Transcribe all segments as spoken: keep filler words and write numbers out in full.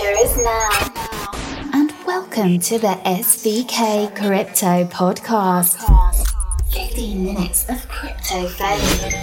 future is now. And welcome to the S V K Crypto Podcast. fifteen minutes of crypto fame.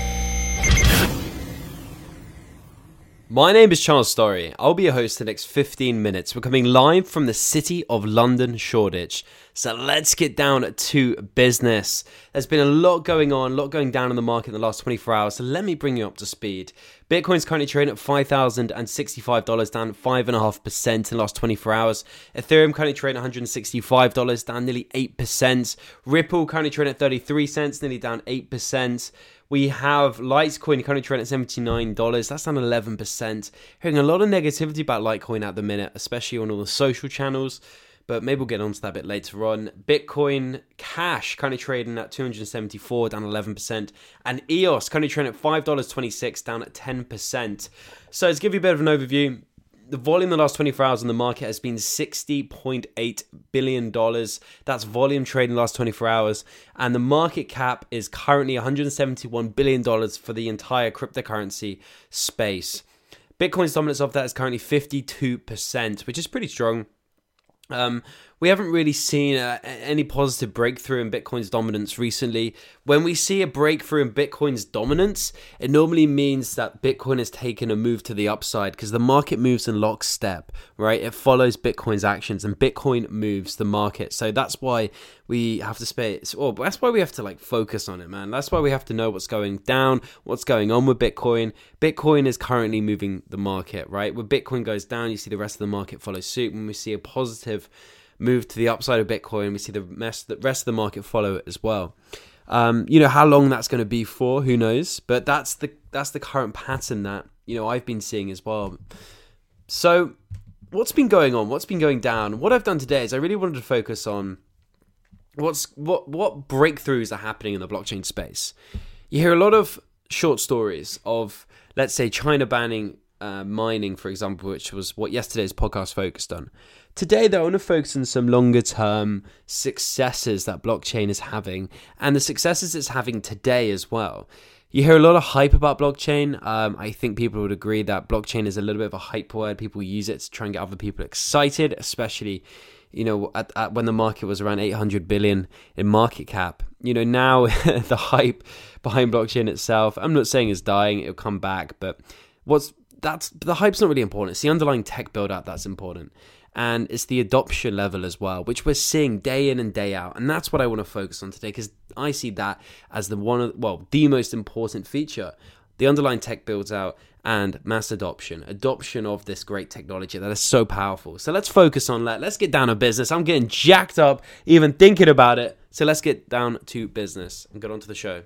My name is Charles Story. I'll be your host for the next fifteen minutes. We're coming live from the city of London, Shoreditch. So let's get down to business. There's been a lot going on, a lot going down in the market in the last twenty-four hours. So let me bring you up to speed. Bitcoin's currently trading at five thousand sixty-five dollars, down five point five percent in the last twenty-four hours. Ethereum currently trading at one hundred sixty-five dollars, down nearly eight percent. Ripple currently trading at thirty-three cents, nearly down eight percent. We have Litecoin currently trading at seventy-nine dollars. That's down eleven percent. Hearing a lot of negativity about Litecoin at the minute, especially on all the social channels. But maybe we'll get onto that a bit later on. Bitcoin Cash currently trading at two hundred seventy-four dollars, down eleven percent. And E O S currently trading at five dollars and twenty-six cents, down at ten percent. So to give you a bit of an overview, the volume in the last twenty-four hours in the market has been sixty point eight billion dollars. That's volume trade in the last twenty-four hours. And the market cap is currently one hundred seventy-one billion dollars for the entire cryptocurrency space. Bitcoin's dominance of that is currently fifty-two percent, which is pretty strong. Um, we haven't really seen uh, any positive breakthrough in Bitcoin's dominance recently. When we see a breakthrough in Bitcoin's dominance, it normally means that Bitcoin has taken a move to the upside because the market moves in lockstep, right? It follows Bitcoin's actions and Bitcoin moves the market. So that's why we have to spay, well, that's why we have to like focus on it, man. That's why we have to know what's going down, what's going on with Bitcoin. Bitcoin is currently moving the market, right? When Bitcoin goes down, you see the rest of the market follow suit. When we see a positive move to the upside of Bitcoin, we see the rest of the market follow it as well. Um, you know, how long that's going to be for, who knows? But that's the that's the current pattern that, you know, I've been seeing as well. So what's been going on? What's been going down? What I've done today is I really wanted to focus on what's what what breakthroughs are happening in the blockchain space. You hear a lot of short stories of, let's say, China banning uh, mining, for example, which was what yesterday's podcast focused on. Today, though, I want to focus on some longer-term successes that blockchain is having and the successes it's having today as well. You hear a lot of hype about blockchain. Um, I think people would agree that blockchain is a little bit of a hype word. People use it to try and get other people excited, especially, you know, at, at when the market was around eight hundred billion in market cap. You know, now the hype behind blockchain itself, I'm not saying it's dying, it'll come back, but what's that's the hype's not really important. It's the underlying tech build out that's important. And it's the adoption level as well, which we're seeing day in and day out. And that's what I want to focus on today, because I see that as the one of, well, the most important feature. The underlying tech builds out and mass adoption, adoption of this great technology that is so powerful. So let's focus on that. Let's get down to business. I'm getting jacked up even thinking about it. So let's get down to business and get on to the show.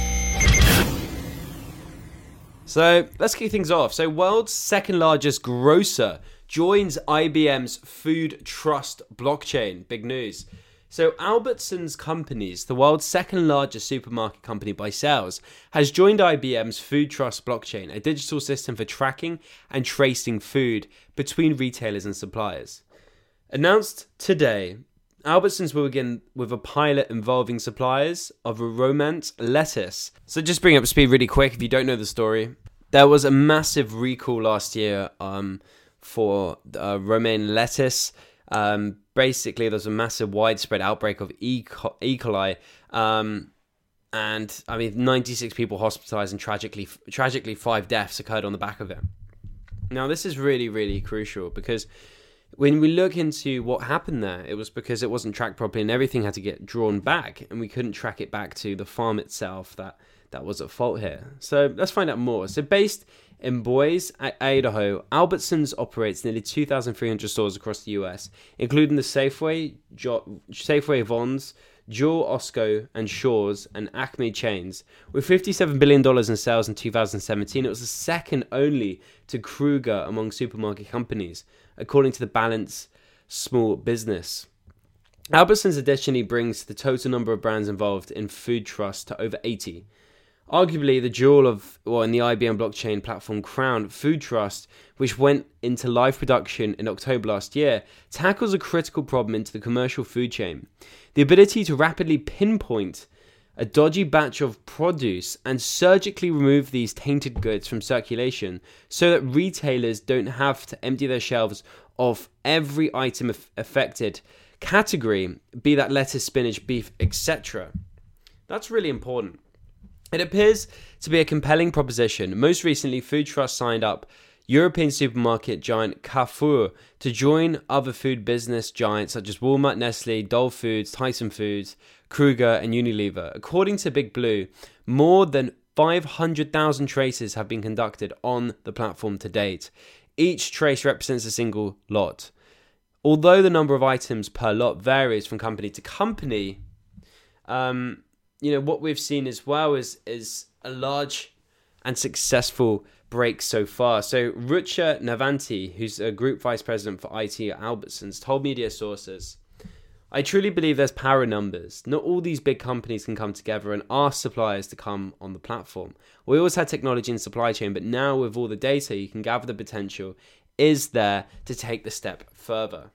So let's kick things off. So world's second largest grocer joins I B M's Food Trust blockchain. Big news. So Albertsons Companies, the world's second largest supermarket company by sales, has joined I B M's Food Trust blockchain, a digital system for tracking and tracing food between retailers and suppliers. Announced today, Albertsons will begin with a pilot involving suppliers of a Romance lettuce. So just bring up to speed really quick, if you don't know the story. There was a massive recall last year um, for uh, romaine lettuce. Um, basically, there's a massive widespread outbreak of E. coli. Um, and, I mean, ninety-six people hospitalized and tragically, tragically five deaths occurred on the back of it. Now, this is really, really crucial because when we look into what happened there, it was because it wasn't tracked properly and everything had to get drawn back and we couldn't track it back to the farm itself that, that was at fault here. So let's find out more. So based in Boise, Idaho, Albertsons operates nearly two thousand three hundred stores across the U S, including the Safeway, jo- Safeway Vons, Jewel Osco and Shaw's and Acme chains. With fifty-seven billion dollars in sales in two thousand seventeen, it was the second only to Kroger among supermarket companies, according to the Balance Small Business. Albertsons additionally brings the total number of brands involved in Food Trust to over eighty. Arguably, the jewel of, well, in the I B M blockchain platform Crown, Food Trust, which went into live production in October last year, tackles a critical problem into the commercial food chain. The ability to rapidly pinpoint a dodgy batch of produce and surgically remove these tainted goods from circulation so that retailers don't have to empty their shelves of every item affected category, be that lettuce, spinach, beef, et cetera. That's really important. It appears to be a compelling proposition. Most recently, Food Trust signed up European supermarket giant Carrefour to join other food business giants such as Walmart, Nestle, Dole Foods, Tyson Foods, Kruger, and Unilever. According to Big Blue, more than five hundred thousand traces have been conducted on the platform to date. Each trace represents a single lot. Although the number of items per lot varies from company to company, um, you know, what we've seen as well is, is a large and successful break so far. So Rucha Navanti, who's a group vice president for I T at Albertsons, told media sources, "I truly believe there's power in numbers. Not all these big companies can come together and ask suppliers to come on the platform. We always had technology and supply chain, but now with all the data, you can gather the potential is there to take the step further."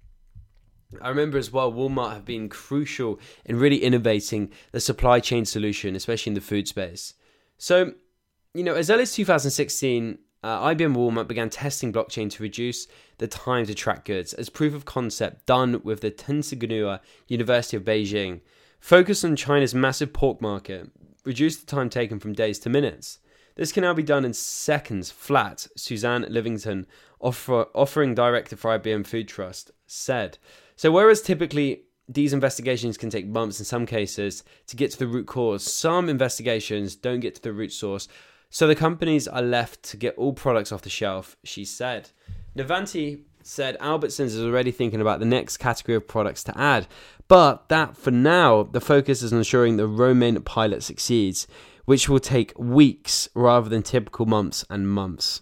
I remember as well, Walmart have been crucial in really innovating the supply chain solution, especially in the food space. So, you know, as early as two thousand sixteen, uh, I B M Walmart began testing blockchain to reduce the time to track goods as proof of concept done with the Tsinghua University of Beijing. Focus on China's massive pork market, reduce the time taken from days to minutes. This can now be done in seconds flat, Suzanne Livington, offer, offering director for I B M Food Trust, said. So whereas typically these investigations can take months in some cases to get to the root cause, some investigations don't get to the root source. So the companies are left to get all products off the shelf, she said. Navanti said Albertsons is already thinking about the next category of products to add, but that for now, the focus is on ensuring the romaine pilot succeeds, which will take weeks rather than typical months and months.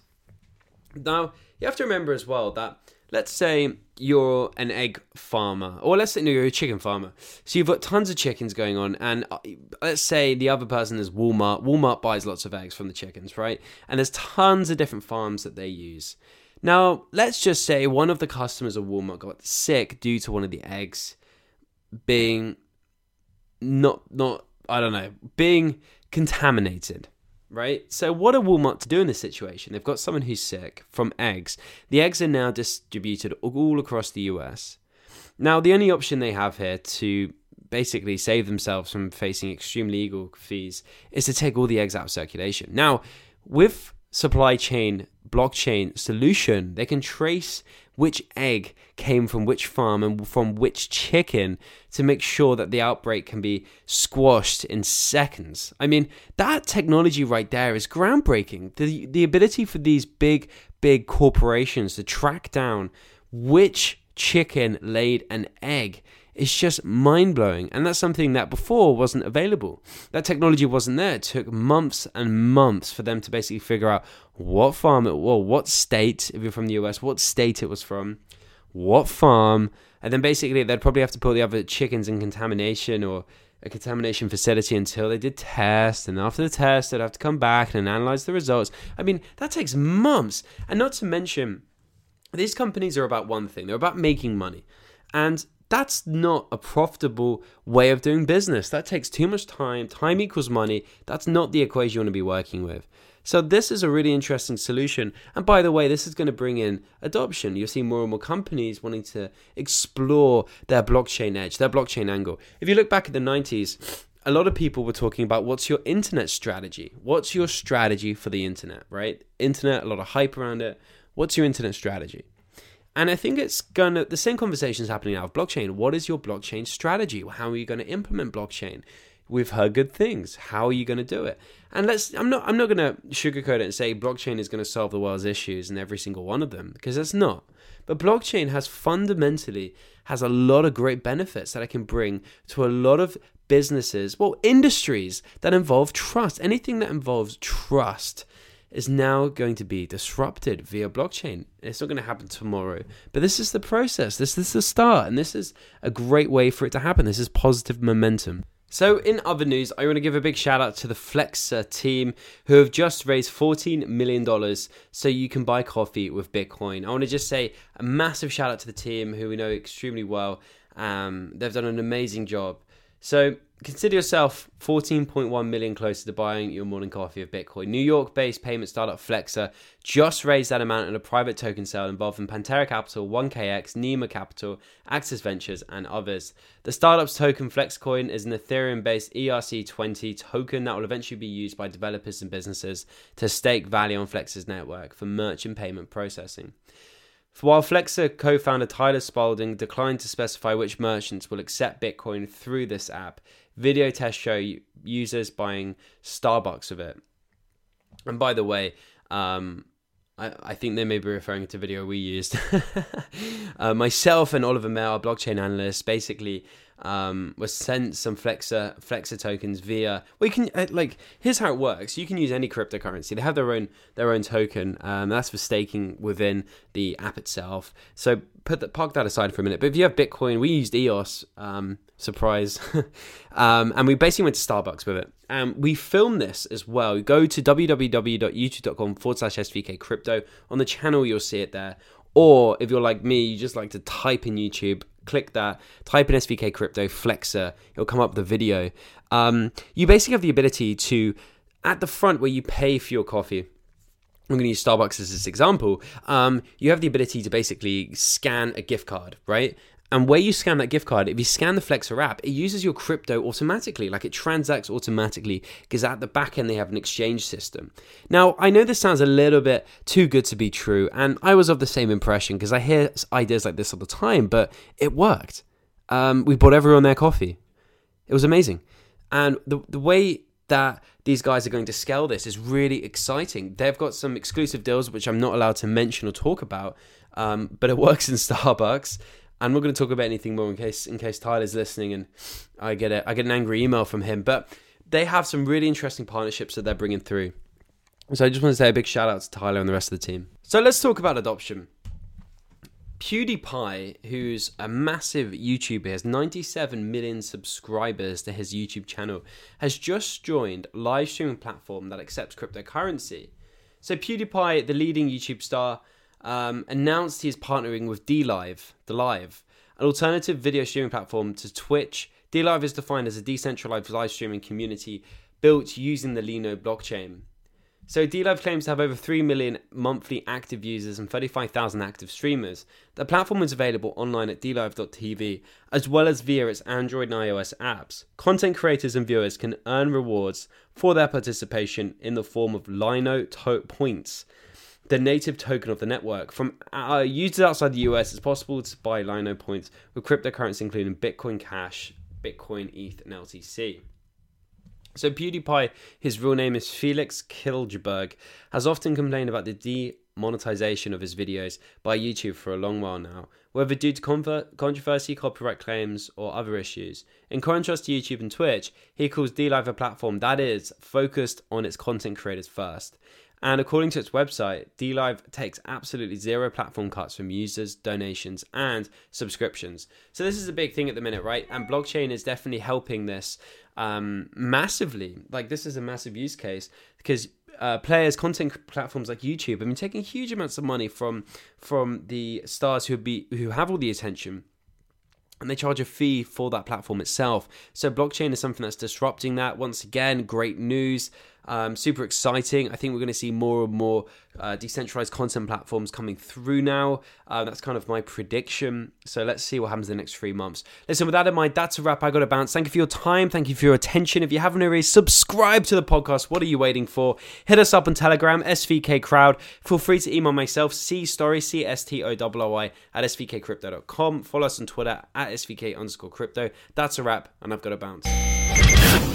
Now, you have to remember as well that, let's say you're an egg farmer, or let's say no, you're a chicken farmer. So you've got tons of chickens going on, and let's say the other person is Walmart. Walmart buys lots of eggs from the chickens, right? And there's tons of different farms that they use. Now, let's just say one of the customers of Walmart got sick due to one of the eggs being not, not I don't know, being contaminated. Right? So what are Walmart to do in this situation? They've got someone who's sick from eggs. The eggs are now distributed all across the U S. Now, the only option they have here to basically save themselves from facing extreme legal fees is to take all the eggs out of circulation. Now, with supply chain blockchain solution, they can trace which egg came from which farm and from which chicken to make sure that the outbreak can be squashed in seconds. I mean, that technology right there is groundbreaking. The the ability for these big, big corporations to track down which chicken laid an egg is just mind-blowing. And that's something that before wasn't available. That technology wasn't there. It took months and months for them to basically figure out what farm it was, what state, if you're from the U S, what state it was from, what farm, and then basically they'd probably have to put the other chickens in contamination or a contamination facility until they did tests, and after the test they'd have to come back and analyze the results. I mean, that takes months. And not to mention, these companies are about one thing. They're about making money. And that's not a profitable way of doing business. That takes too much time. Time equals money. That's not the equation you want to be working with. So this is a really interesting solution. And by the way, this is going to bring in adoption. You'll see more and more companies wanting to explore their blockchain edge, their blockchain angle. If you look back at the nineties, a lot of people were talking about what's your internet strategy? What's your strategy for the internet, right? Internet, a lot of hype around it. What's your internet strategy? And I think it's gonna, the same conversation is happening now with blockchain. What is your blockchain strategy? How are you going to implement blockchain? We've heard good things. How are you going to do it? And let's, I'm not, I'm not going to sugarcoat it and say blockchain is going to solve the world's issues and every single one of them, because it's not. But blockchain has fundamentally, has a lot of great benefits that I can bring to a lot of businesses, well, industries that involve trust. Anything that involves trust is now going to be disrupted via blockchain. It's not going to happen tomorrow, but this is the process. This, this is the start, and this is a great way for it to happen. This is positive momentum. So in other news, I want to give a big shout out to the Flexa team who have just raised fourteen million dollars so you can buy coffee with Bitcoin. I want to just say a massive shout out to the team who we know extremely well. Um, they've done an amazing job. So consider yourself fourteen point one million closer to buying your morning coffee of Bitcoin. New York-based payment startup Flexa just raised that amount in a private token sale involving Pantera Capital, one K X, Nima Capital, Axis Ventures, and others. The startup's token Flexcoin is an Ethereum-based E R C twenty token that will eventually be used by developers and businesses to stake value on Flex's network for merchant payment processing. While Flexa co-founder Tyler Spalding declined to specify which merchants will accept Bitcoin through this app, video tests show users buying Starbucks of it. And by the way, um, I, I think they may be referring to video we used. uh, myself and Oliver Mayer, our blockchain analyst, basically um, was sent some Flexa Flexa tokens via. Well, you can uh, like here's how it works. You can use any cryptocurrency. They have their own their own token. Um, that's for staking within the app itself. So put that park that aside for a minute. But if you have Bitcoin, we used E O S. Um, surprise, um, and we basically went to Starbucks with it. And we filmed this as well. Go to www.youtube.com forward slash SVK crypto. On the channel, you'll see it there. Or if you're like me, you just like to type in YouTube, click that, type in S V K crypto Flexa, it'll come up with the video. Um, you basically have the ability to, at the front where you pay for your coffee, I'm going to use Starbucks as this example, um, you have the ability to basically scan a gift card, right? And where you scan that gift card, if you scan the Flexa app, it uses your crypto automatically, like it transacts automatically, because at the back end they have an exchange system. Now, I know this sounds a little bit too good to be true, and I was of the same impression, because I hear ideas like this all the time, but it worked. Um, we bought everyone their coffee. It was amazing. And the the way that these guys are going to scale this is really exciting. They've got some exclusive deals, which I'm not allowed to mention or talk about, um, but it works in Starbucks. I'm not going to talk about anything more in case in case Tyler's listening and I get a, I get an angry email from him. But they have some really interesting partnerships that they're bringing through. So I just want to say a big shout out to Tyler and the rest of the team. So let's talk about adoption. PewDiePie, who's a massive YouTuber, has ninety-seven million subscribers to his YouTube channel, has just joined a live streaming platform that accepts cryptocurrency. So PewDiePie, the leading YouTube star, Um, announced he is partnering with DLive, the Live, an alternative video streaming platform to Twitch. DLive is defined as a decentralized live streaming community built using the Lino blockchain. So DLive claims to have over three million monthly active users and thirty-five thousand active streamers. The platform is available online at d live dot t v, as well as via its Android and iOS apps. Content creators and viewers can earn rewards for their participation in the form of Lino to- points, the native token of the network. From uh, users outside the U S, it's possible to buy Lino points with cryptocurrency including Bitcoin Cash, Bitcoin, E T H, and L T C. So PewDiePie, his real name is Felix Killberg, has often complained about the demonetization of his videos by YouTube for a long while now, whether due to conver- controversy, copyright claims, or other issues. In contrast to YouTube and Twitch, he calls DLive a platform that is focused on its content creators first. And according to its website, DLive takes absolutely zero platform cuts from users, donations, and subscriptions. So this is a big thing at the minute, right? And blockchain is definitely helping this um, massively. Like, this is a massive use case because uh, players, content platforms like YouTube, have been taking huge amounts of money from from the stars who be who have all the attention. And they charge a fee for that platform itself. So blockchain is something that's disrupting that. Once again, great news. Um, super exciting. I think we're going to see more and more uh, decentralized content platforms coming through now. Uh, that's kind of my prediction. So let's see what happens in the next three months. Listen, with that in mind, that's a wrap. I got to bounce. Thank you for your time. Thank you for your attention. If you haven't already, subscribe to the podcast. What are you waiting for? Hit us up on Telegram, S V K Crowd. Feel free to email myself, C Story, C S T O R R Y, at S V K crypto dot com. Follow us on Twitter, at S V K underscore crypto. That's a wrap, and I've got to bounce.